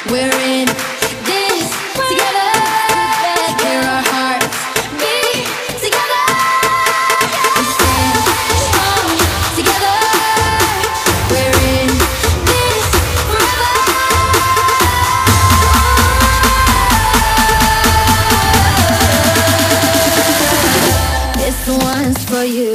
We're in this together. Hear our hearts beat together. We stand strong together. We're in this forever. This one's for you.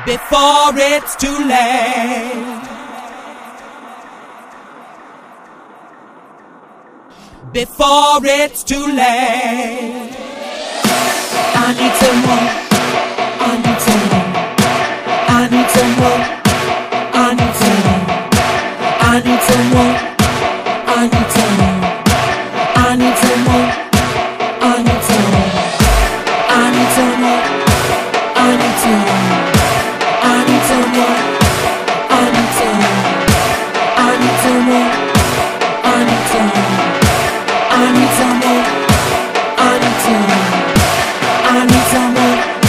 before it's too late. Before it's too late. I need some more. I need some more. I need some more. I need some more. I need some more. I need some more. I need some more. I need some more. I need some more. I need some more. I need some more. I need some more. I need some more. I need some more. I need some more. I need some more. I need some more.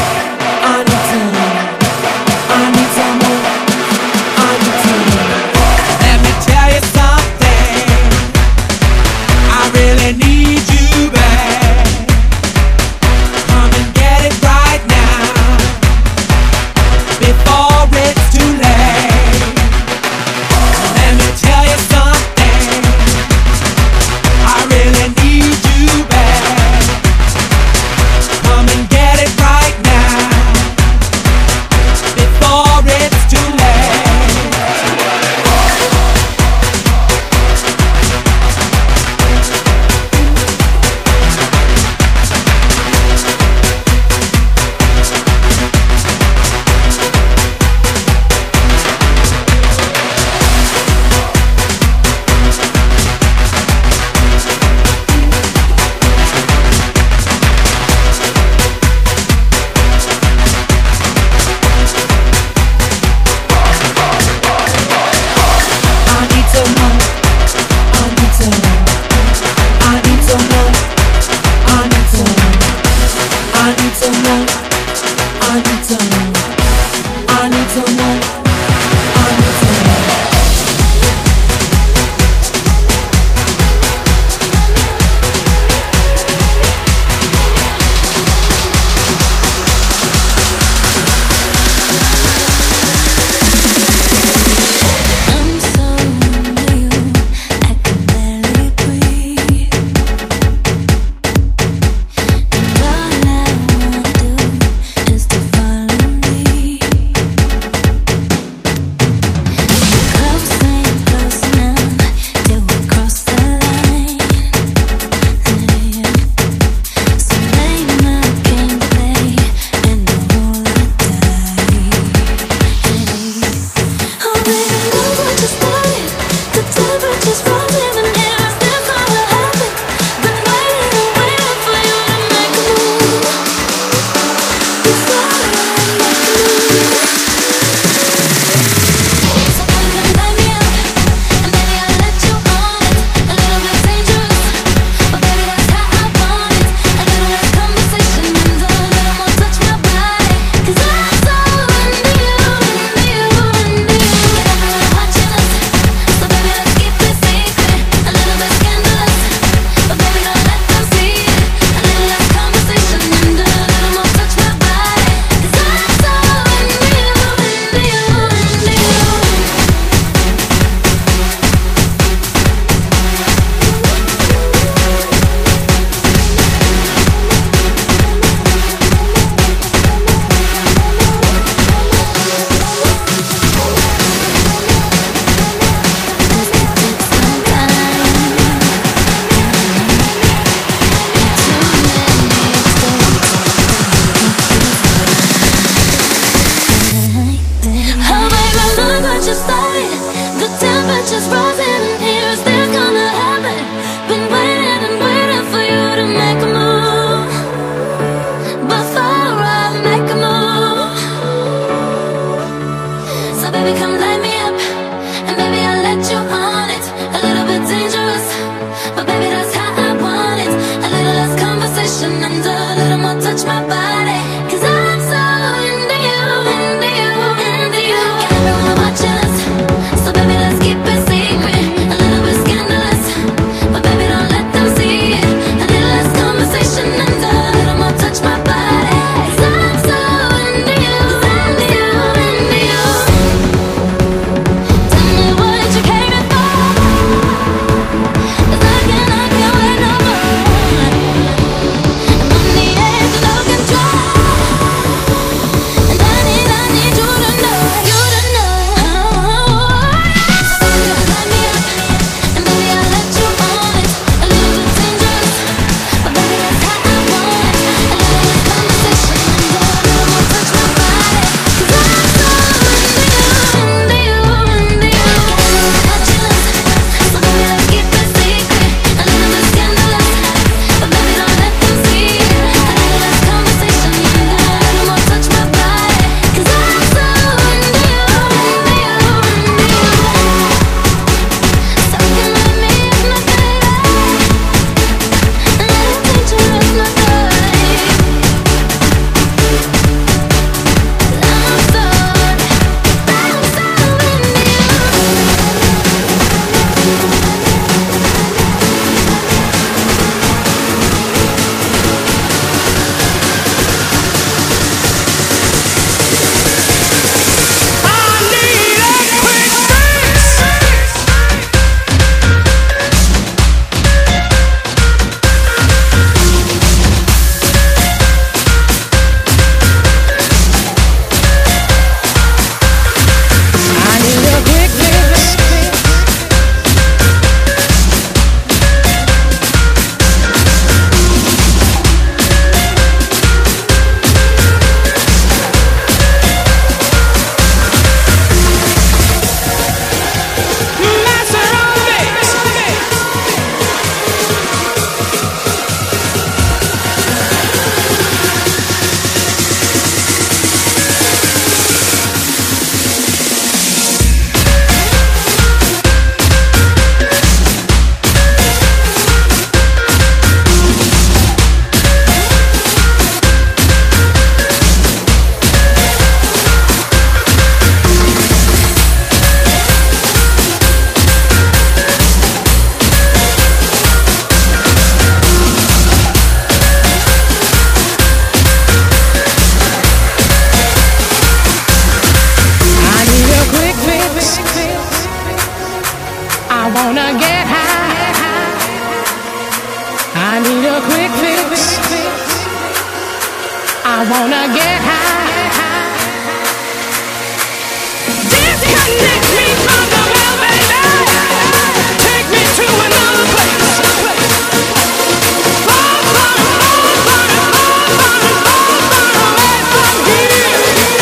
wanna get high. Disconnect me from the world, baby. Take me to another place. Far, far, far, far, far, far, far away from here.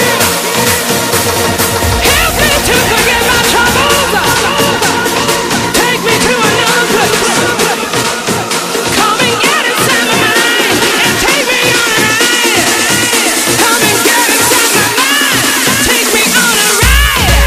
Help me to forget my troubles. Take me to another place. Come and get inside my mind and take me on a ride. Come and get inside my mind, take me on a ride.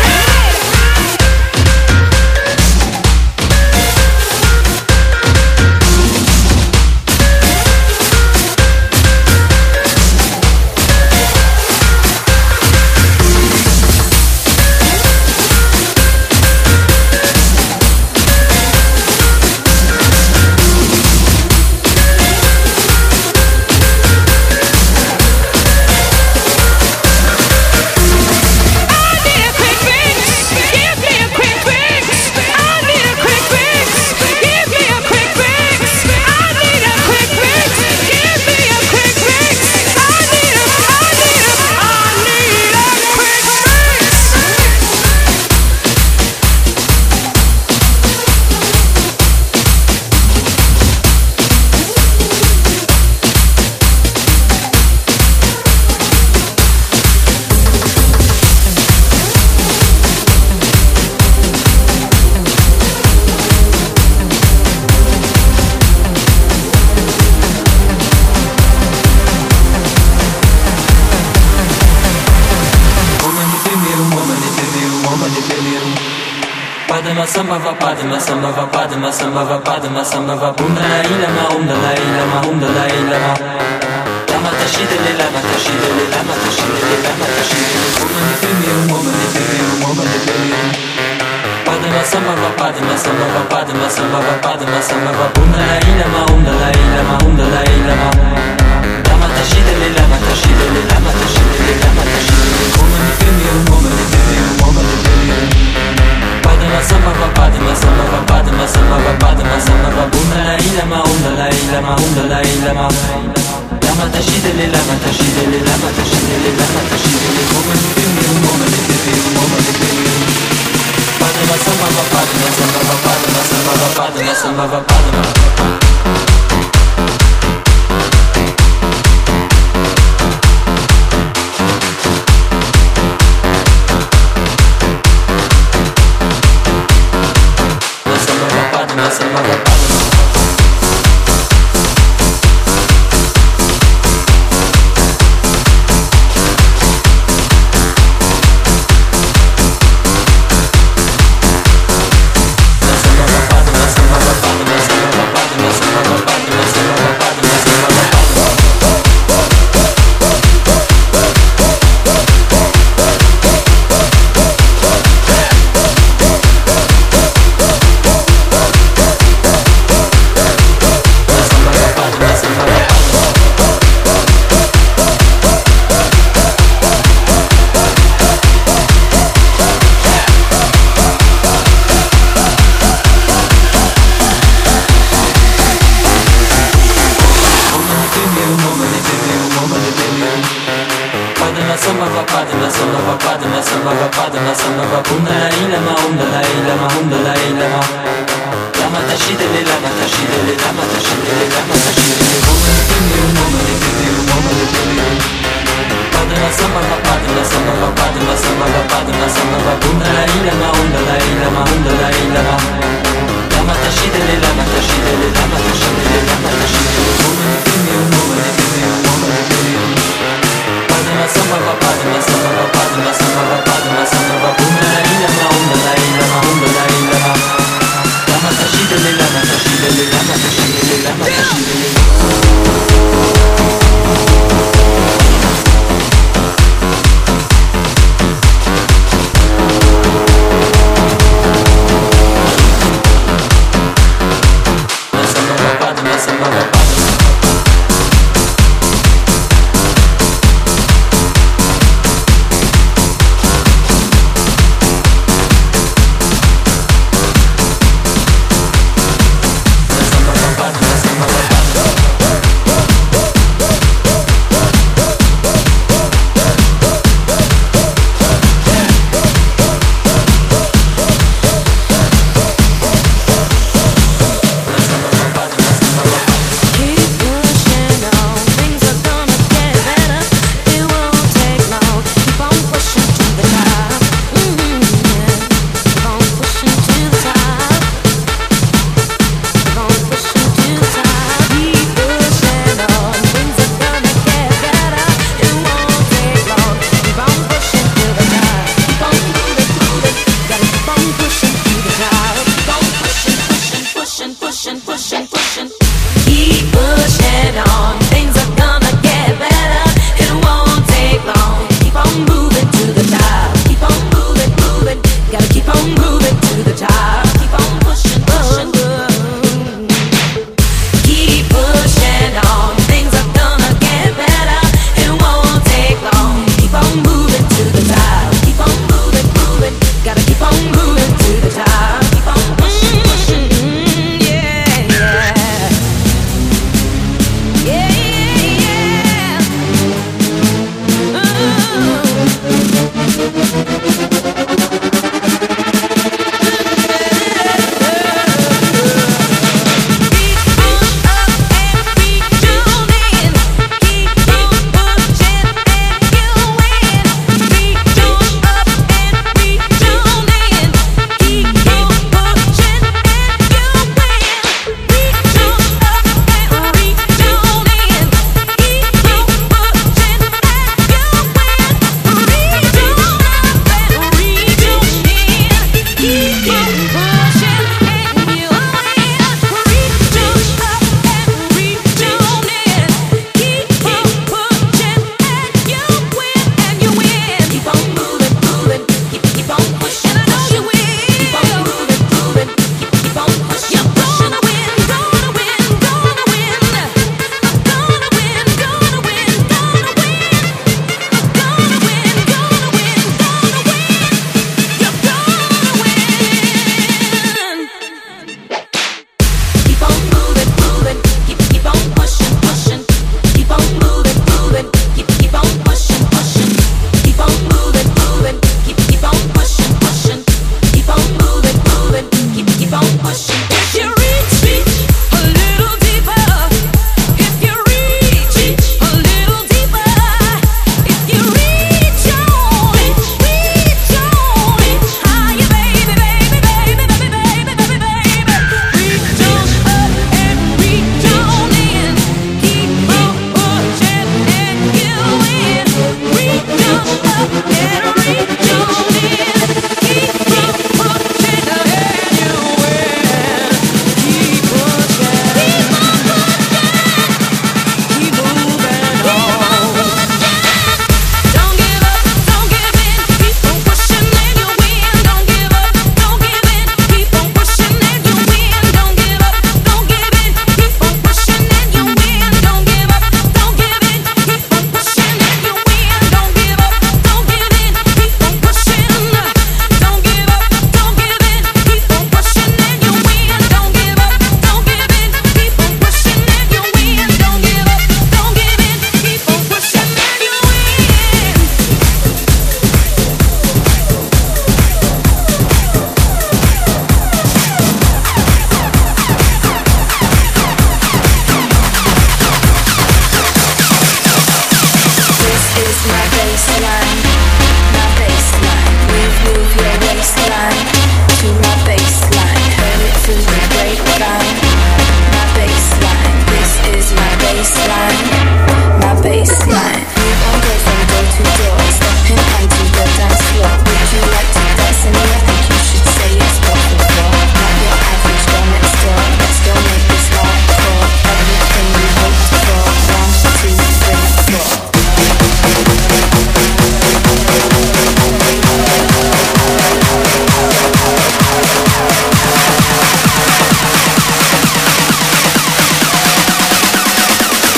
Samba va padma samba va padma samba va padma samba va bunda la ilama umda la ilama umda la ilama lama tashidele lama tashidele lama tashidele lama tashidele woman if you woman if you woman if you padma samba va padma samba va padma samba va padma samba va bunda la ilama umda la ilama umda la ilama lama tashidele lama tashidele lama tashidele lama tashidele woman if you woman if you woman if you Padma samba va padma samba va padma samba va padma samba va bunda la ilama umda la ilama umda la ilama lama tashidele lama tashidele lama tashidele lama tashidele woman if you woman if you woman if you Padma samba va padma samba va padma samba va padma samba va padma Samba va padma samba va bunda la ilama umda la ilama umda la ilama lama tashidele lama tashidele lama tashidele lama tashidele woman if you woman if you woman if you padma samba va padma samba va padma samba va padma samba va bunda la ilama umda la ilama umda la ilama lama tashidele lama tashidele lama tashidele lama tashidele woman if you woman if you woman if you padma samba va padma samba va padma samba va padma samba va bunda la ilama umda la ilama umda la ilama lama tashidele lama tashidele lama tashidele lama tashidele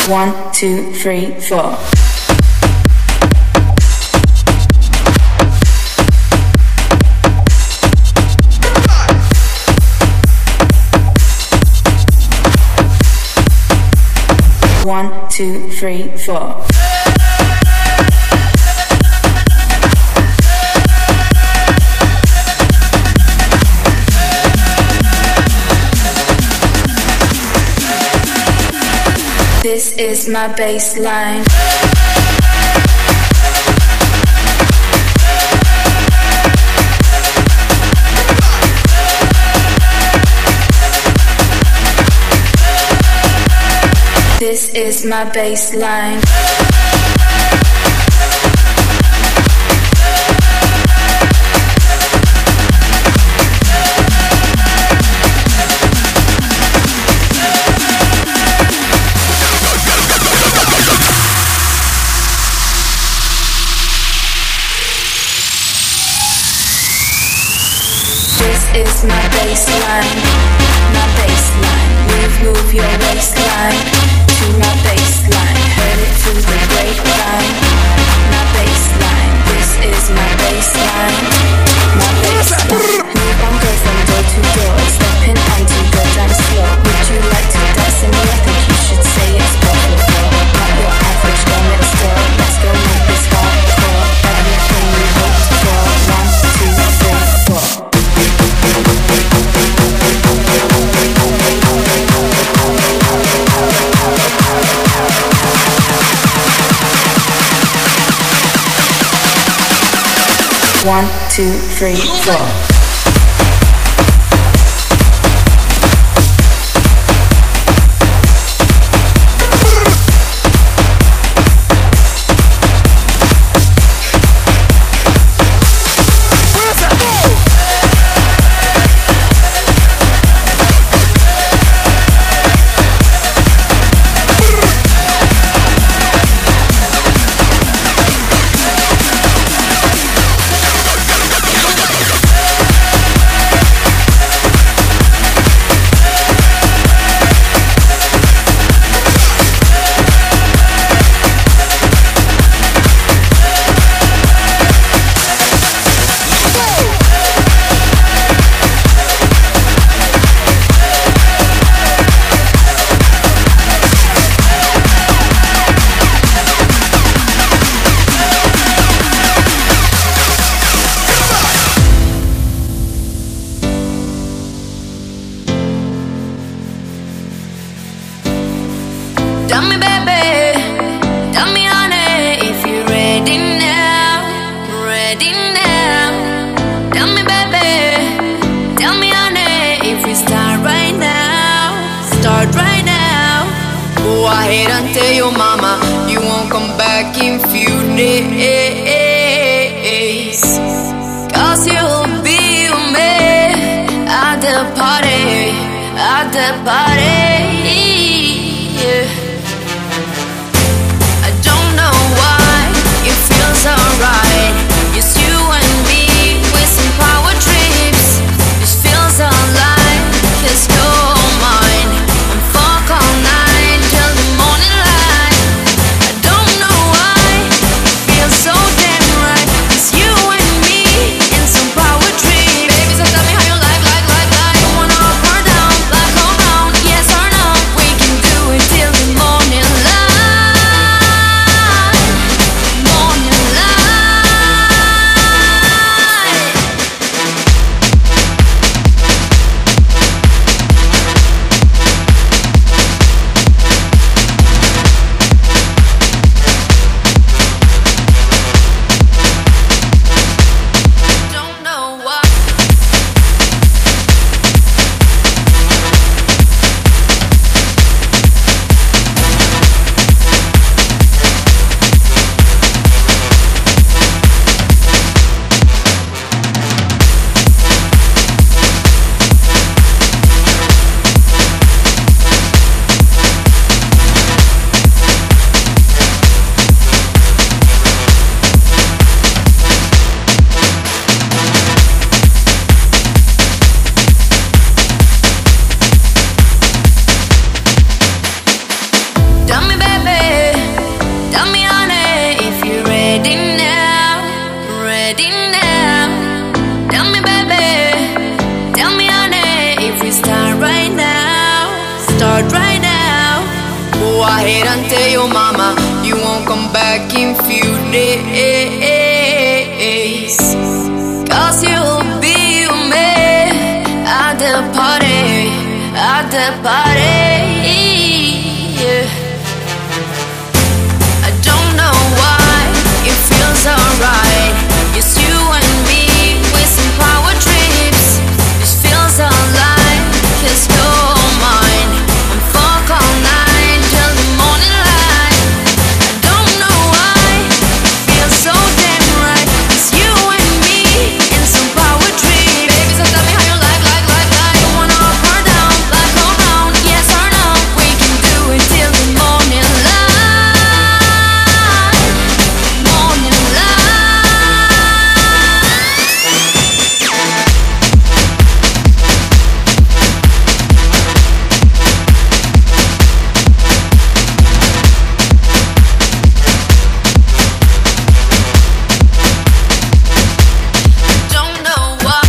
1, 2, 3, 4. One, two, three, four. This is my baseline. This is my baseline. This is my baseline, my baseline. Move your waistline to my baseline. Heard it through the grapevine. My baseline, this is my baseline, my baseline. Move on, go from door to door, stepping onto the dance floor. Would you like to dance in me? I think you should say it's possible. Not your average girl next door. Let's go make this hardcore. Everything you hoped for. 1, 2, 3, 4. One, two, three, four. Tell me, baby, tell me, honey, if you're ready now, ready now. Tell me, baby, tell me, honey, if we start right now, start right now. Go ahead and tell your mama you won't come back in few days, 'cause you'll be with me at the party, at the party. Yeah. Alright, it's you and me with some power trips. This feels alive, 'cause you're mine. I'm fuck all night till the morning light. I don't know why, it feels so damn right. It's you and me in some power trips. Baby, so tell me how you like. You wanna up or down, like all round. tell your mama you won't come back in few days. Cause you'll be with me at the party, at the party. Yeah. I don't know why it feels alright. It's you and me with some power trips. This feels alive, 'cause you're mine. I'm fuck all night till the morning light. I don't know why it feels so damn right. It's you and me in some power trip. Baby, so tell me how you like. You wanna up or down, like or round, yes or no? We can do it till the morning light. Morning light. Don't know why.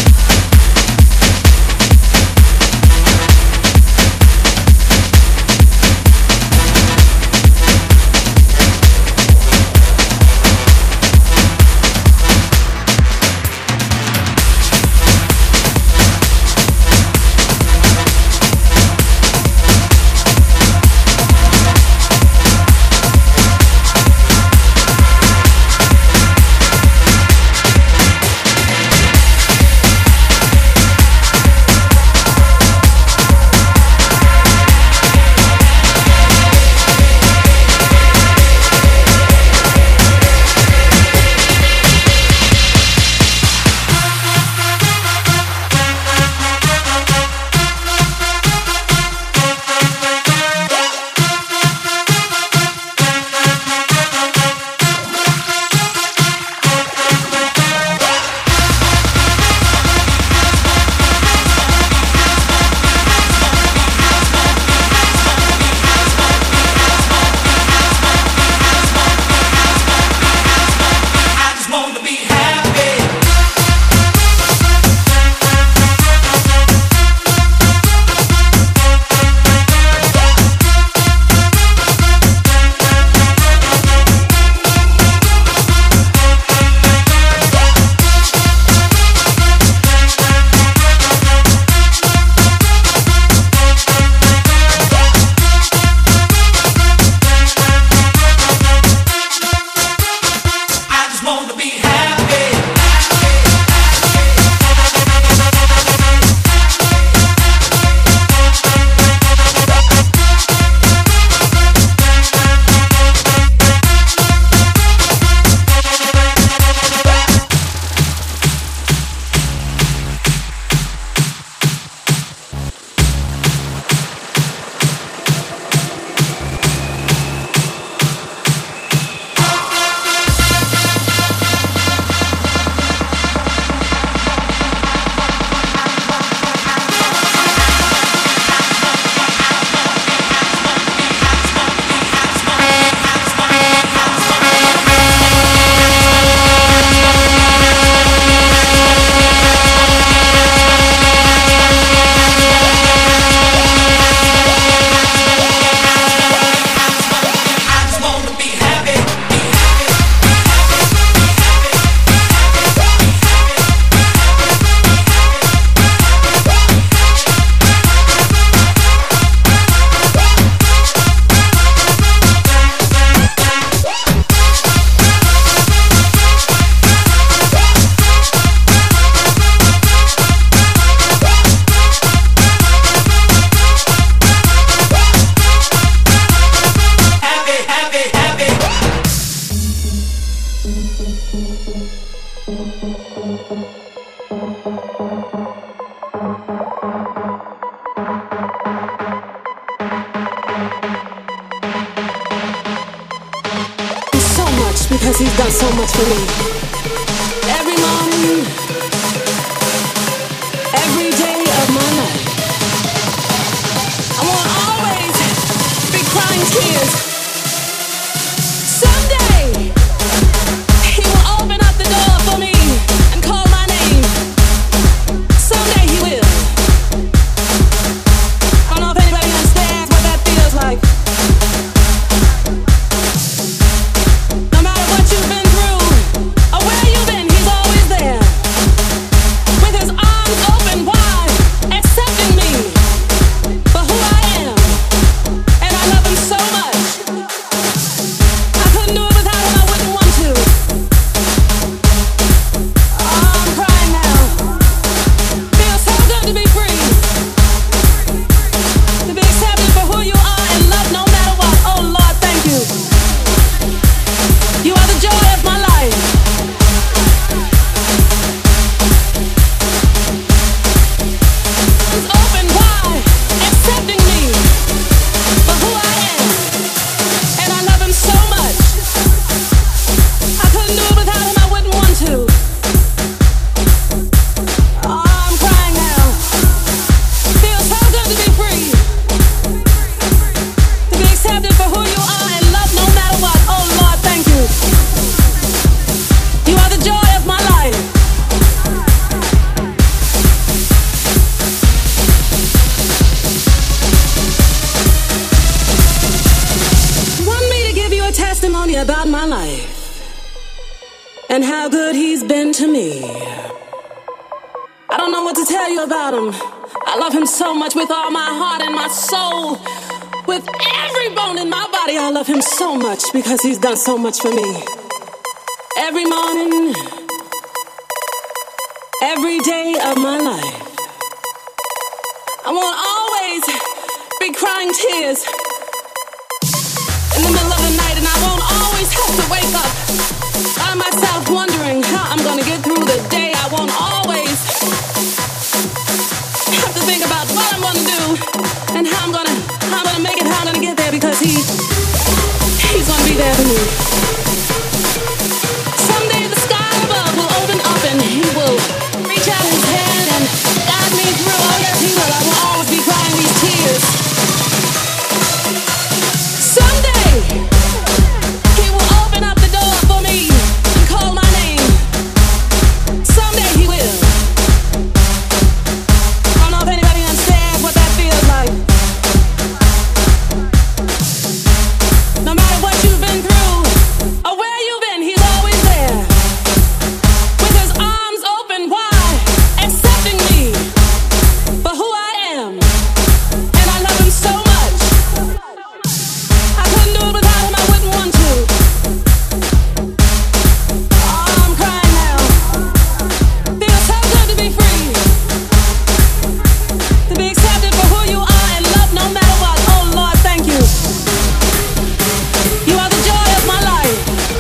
Because he's done so much for me. Every morning, every day of my life, I won't always be crying tears. Someday, he will open up the door for me and call my name. Someday he will. I don't know if anybody understands what that feels like. and how good he's been to me. I don't know what to tell you about him. I love him so much with all my heart and my soul. With every bone in my body, I love him so much because he's done so much for me. Every morning, every day of my life, I won't always be crying tears in the middle of the night, and I won't always have to wake up by myself wondering how I'm gonna get through the day. I won't always have to think about what I'm gonna do and how I'm gonna make it, how I'm gonna get there, because he's gonna be there for me. Someday the sky above will open up and he will reach out his hand and guide me through. Oh yes, he will. I will always be crying these tears. Someday he will open up the door for me and call my name. Someday he will. I don't know if anybody understands what that feels like. No matter what you've been through or where you've been, he's always there with his arms open wide, accepting me for who I am. And I love him so much. I couldn't do it without him. I wouldn't want to. Oh, I'm crying now. Feels so good to be free, to be accepted for who you are and loved no matter what. Oh Lord, thank you. You are the joy of my life.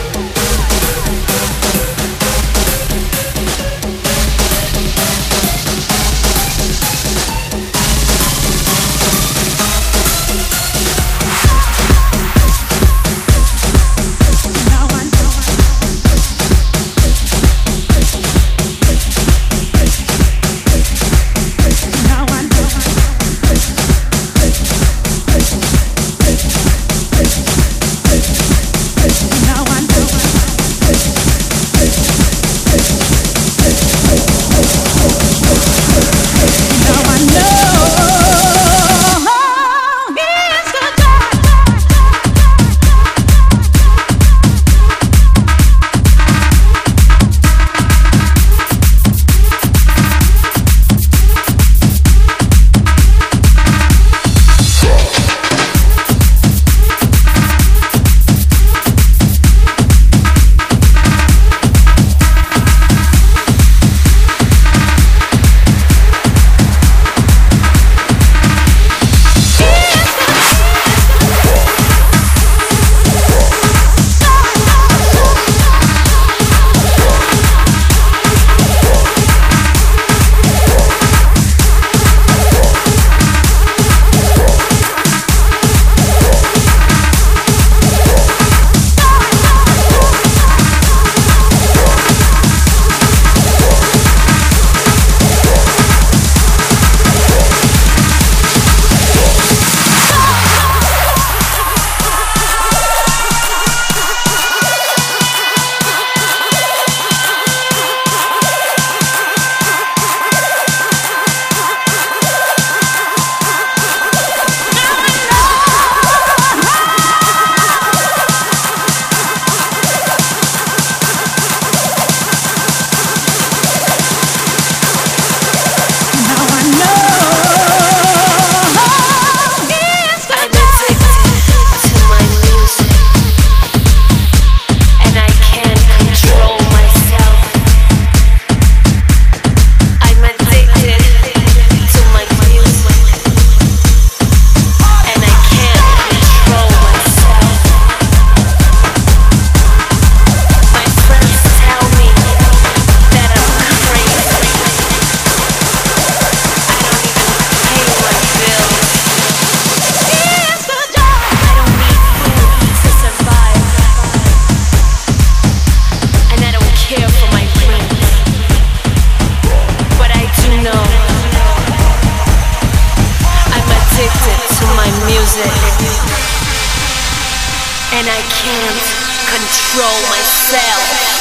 and I can't control myself.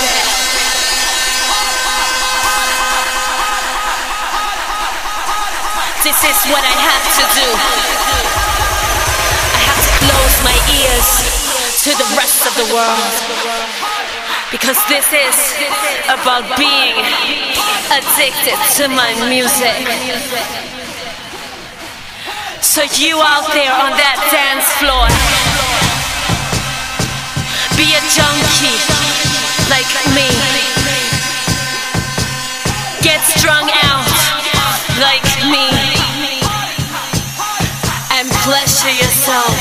This is what I have to do. I have to close my ears to the rest of the world, Because this is about being addicted to my music. So you out there on that dance floor, be a junkie like me. Get strung out like me. And pleasure yourself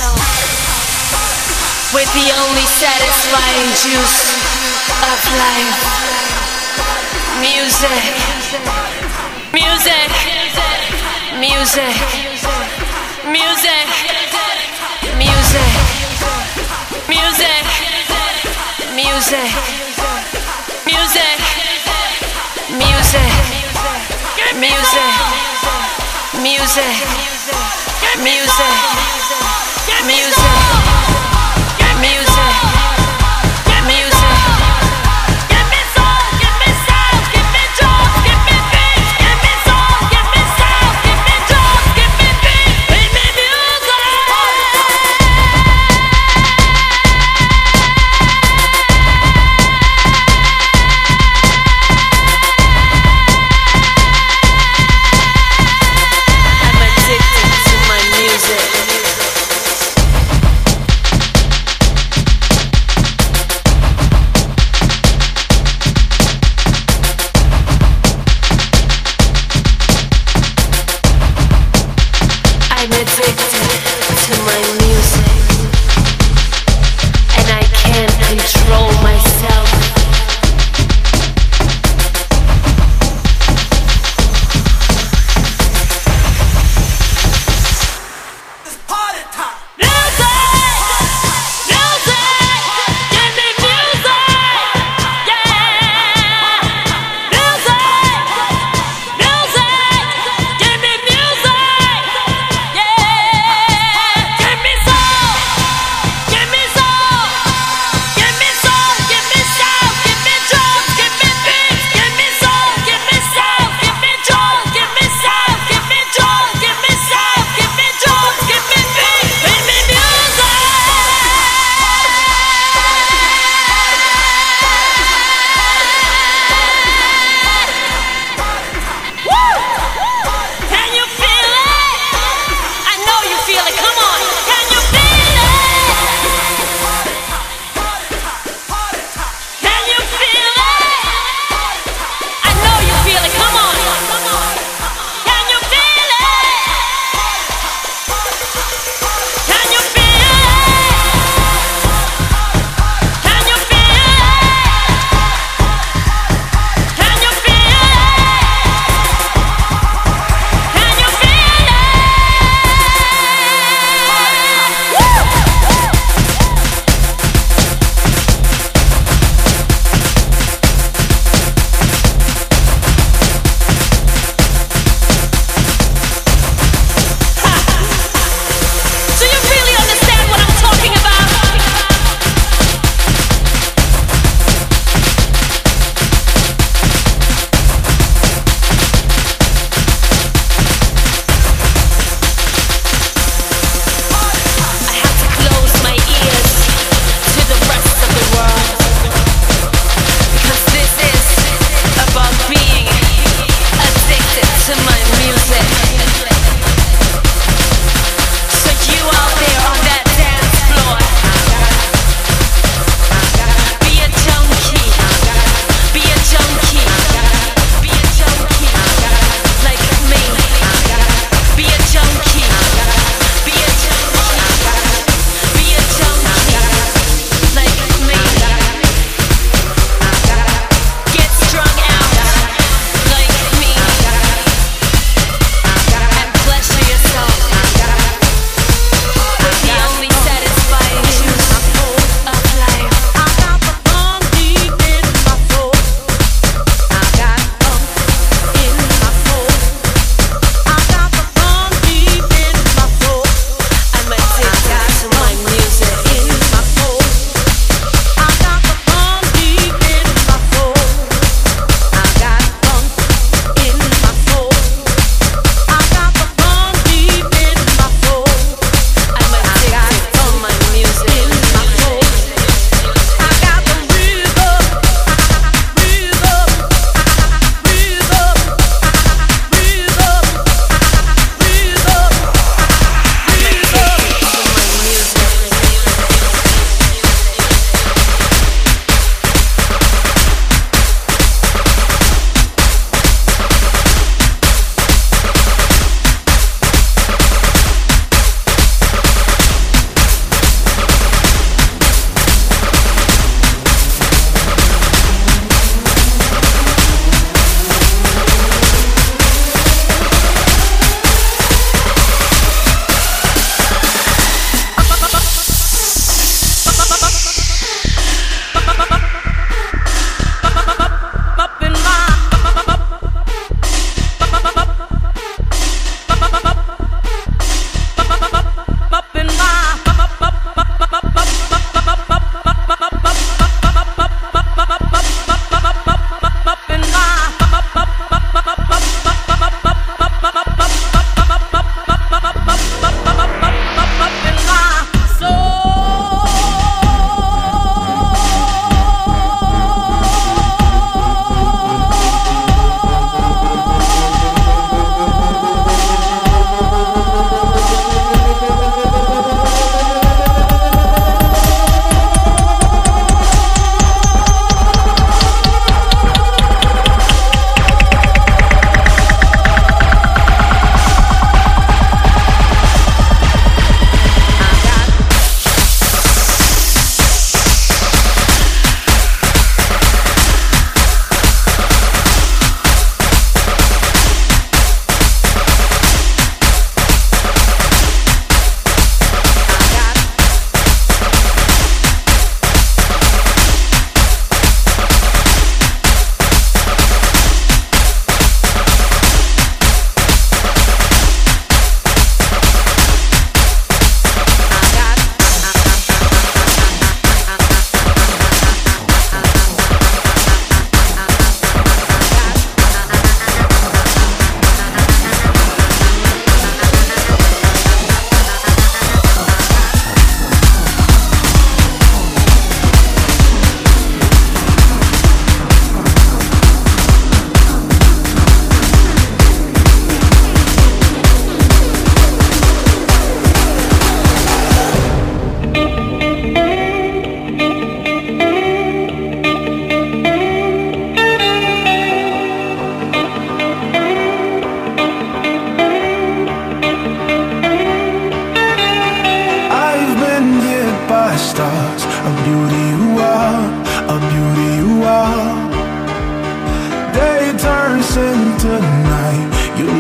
with the only satisfying juice of life. Music. Music. Music. Music. Music. Music. Music. Music. Music. Music. Music. Music. Music. Music. Music. Give me soul, give me sound, give me joy, give me beat. Give me soul, give me sound, give me joy, give me beat. Give me music. I'm addicted to my music.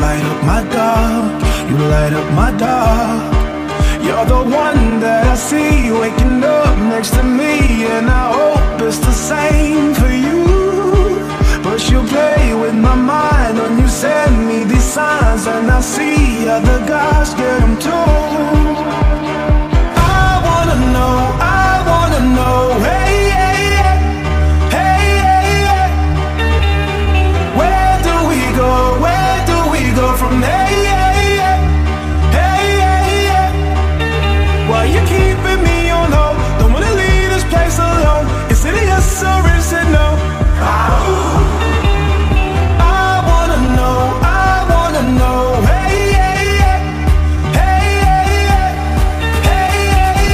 light up my dark, you light up my dark. You're the one that I see waking up next to me, and I hope it's the same for you. But you play with my mind when you send me these signs, and I see other guys get them too. I wanna know, hey, hey, hey, hey, hey. Where do we go from there? Why you keeping me on hold? Don't wanna leave this place alone. Is it a yes or is it no? I wanna know, hey, hey, hey, hey, hey,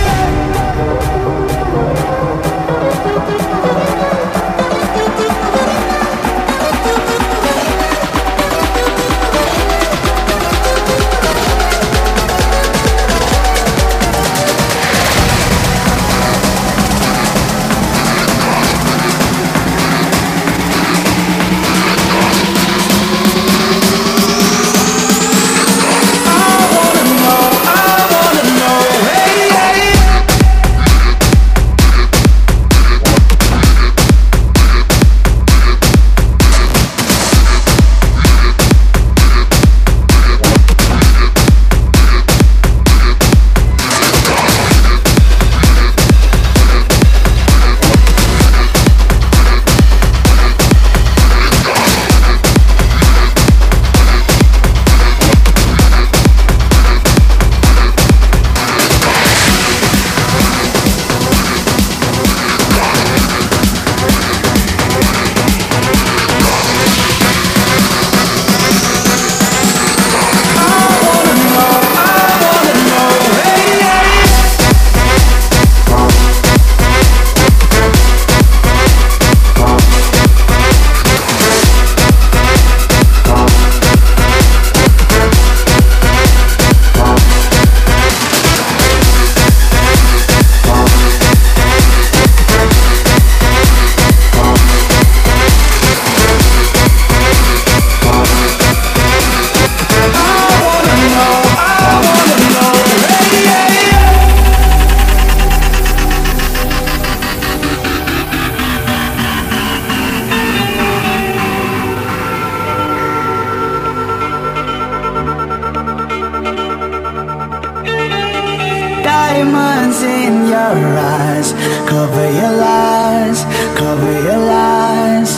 Diamonds in your eyes, cover your lies, cover your lies.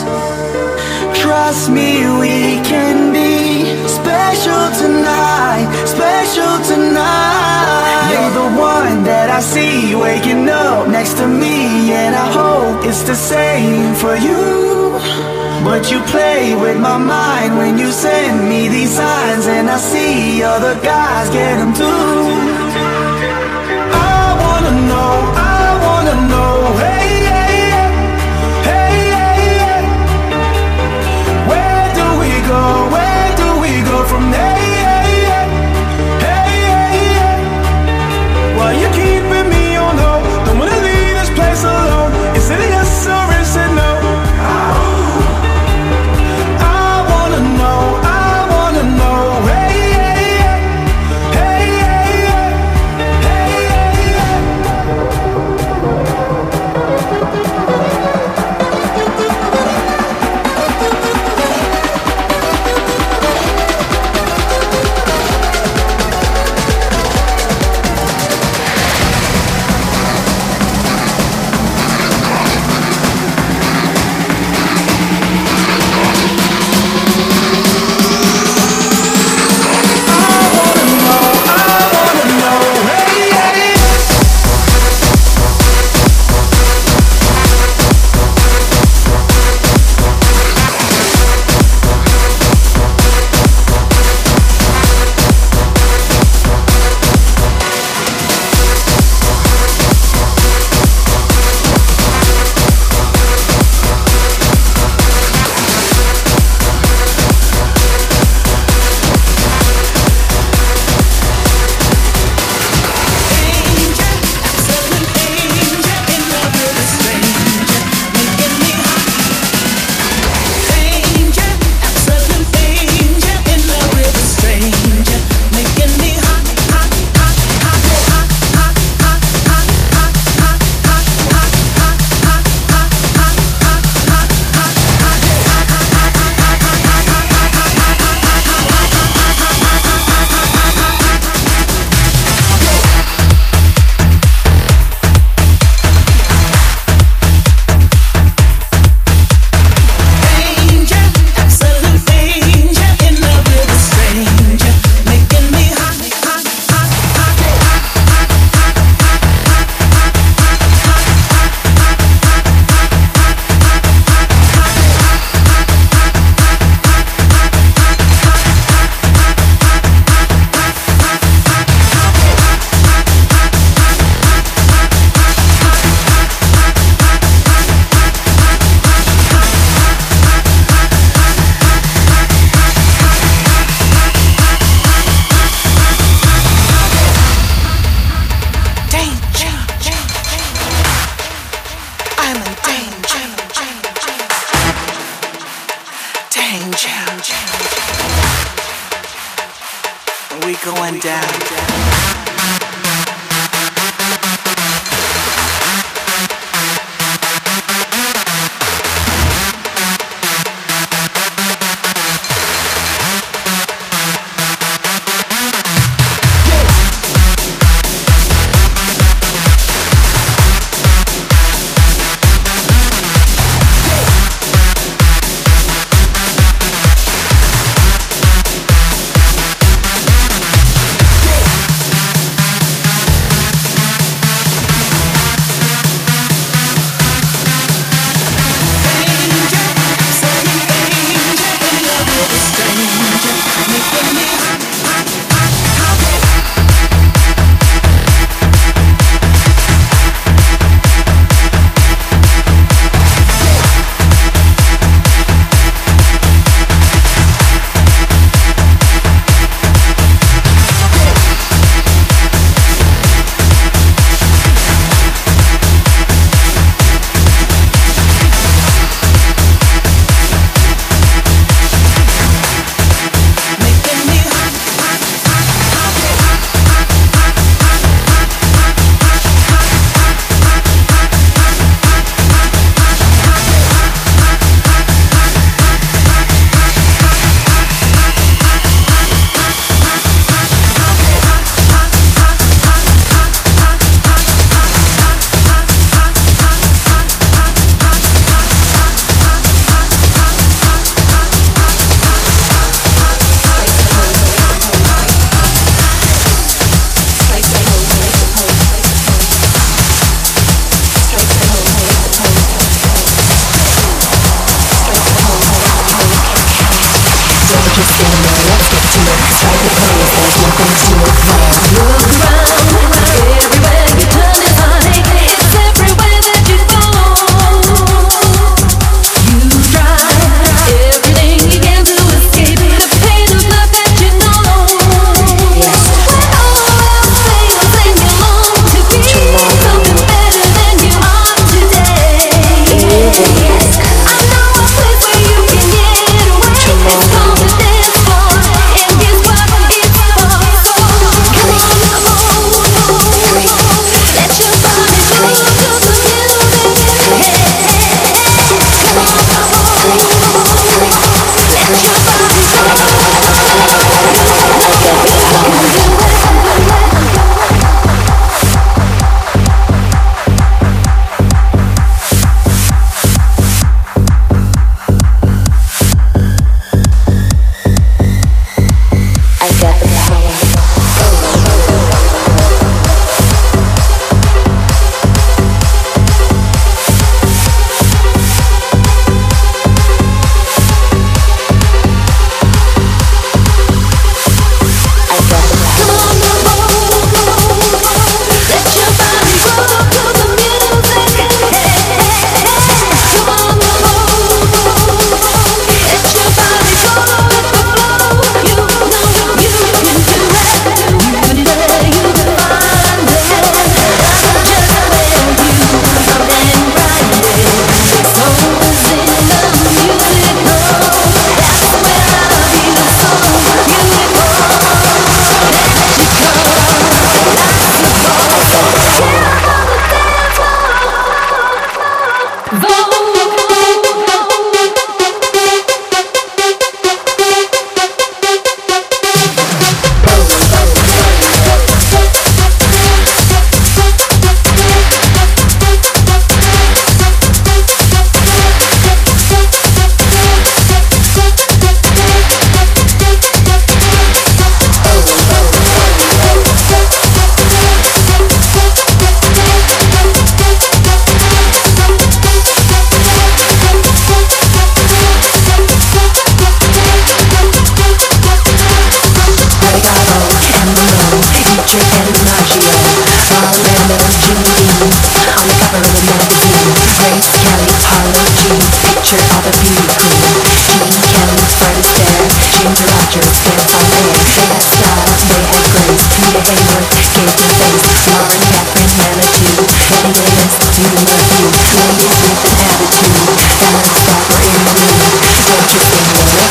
Trust me, we can be special tonight, special tonight. You're the one that I see waking up next to me, and I hope it's the same for you. But you play with my mind when you send me these signs, and I see other guys get them too. I wanna know, hey, hey, hey, hey, hey. Where do we go from there? Hey, hey, hey. Why you keeping me on hold? Don't wanna leave this place alone. Is it a yes or is it no? I wanna know, hey, hey, hey, hey, hey. change. We going down. Don't you sing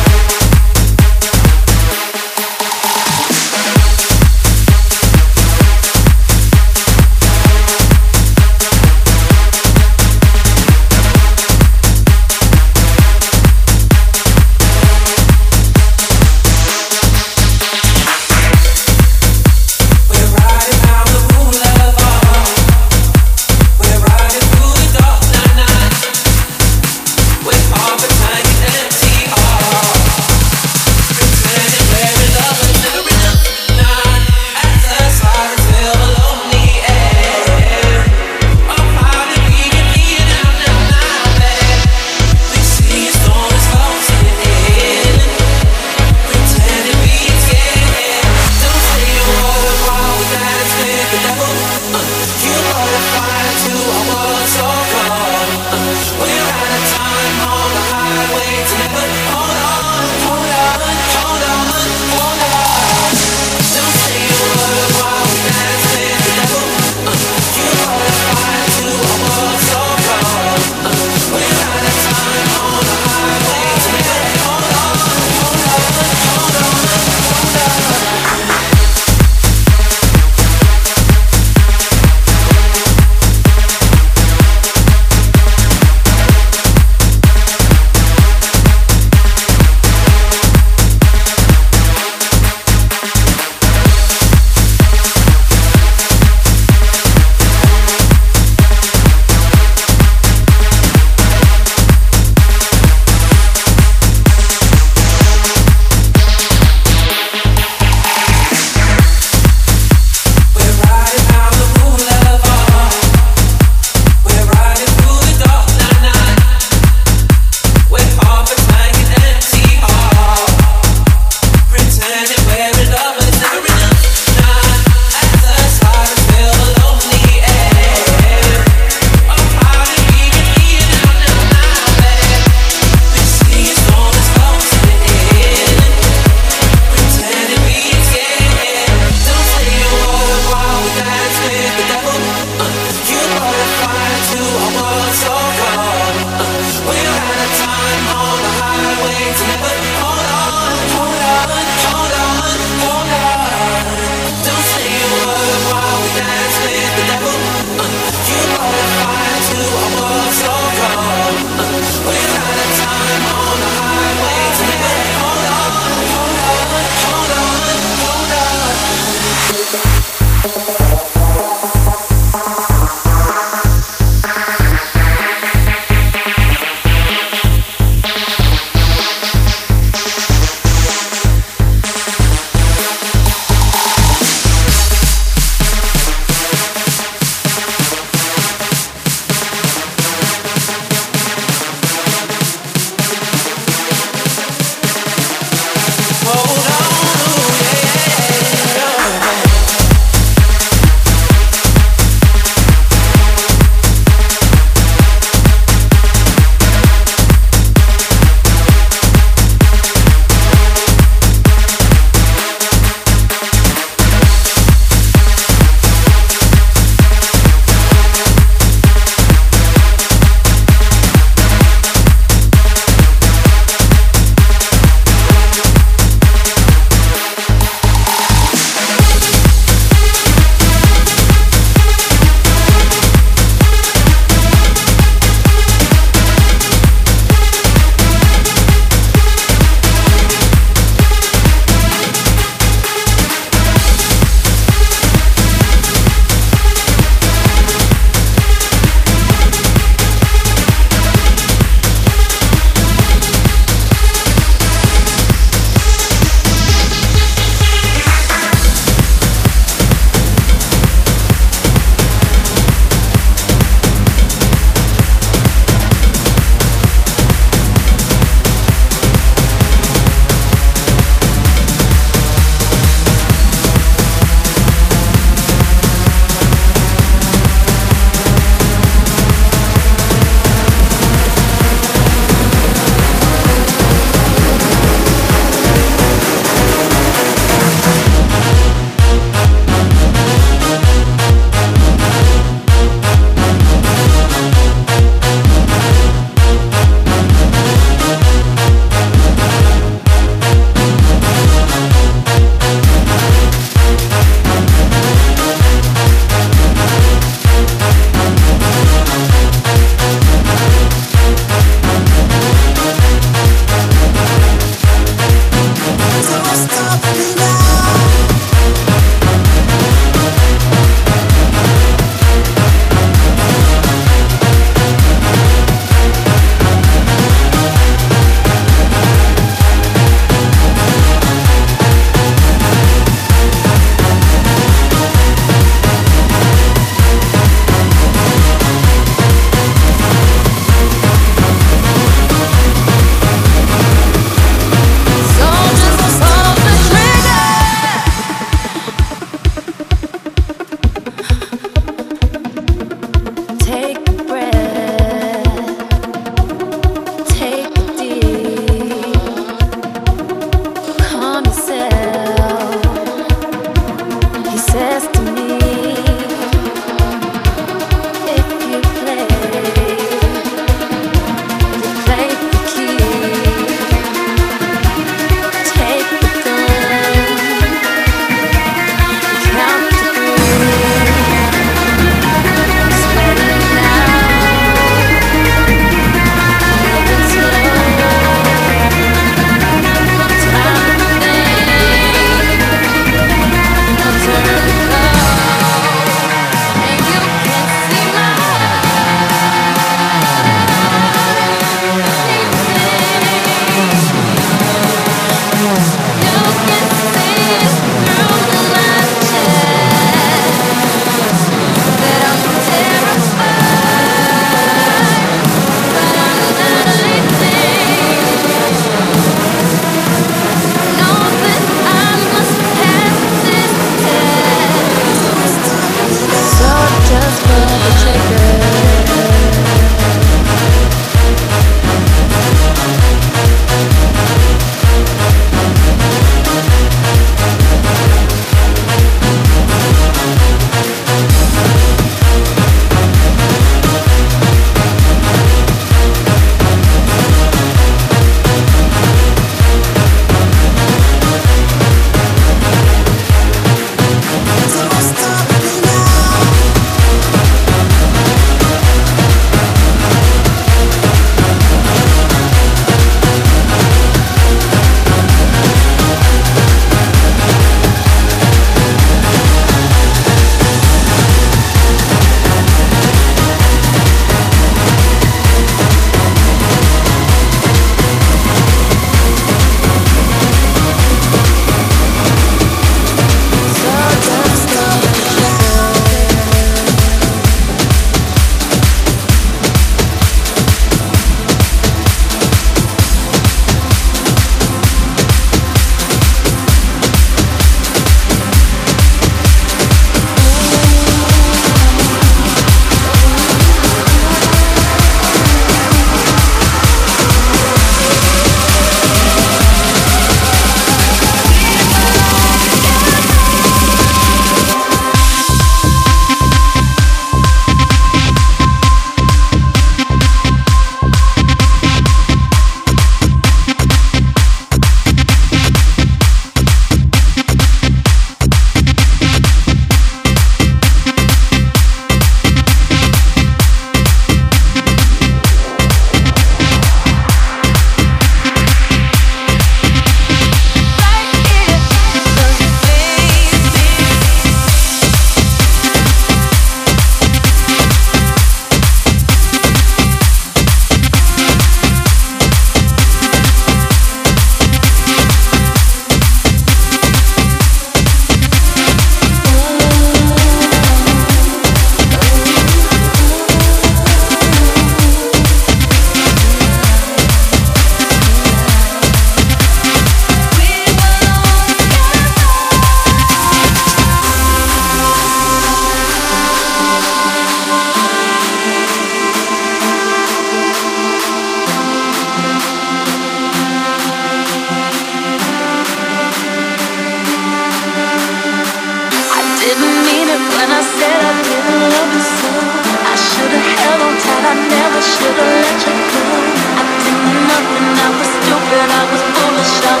should've let you go. I did nothing, I was stupid, I was foolish, I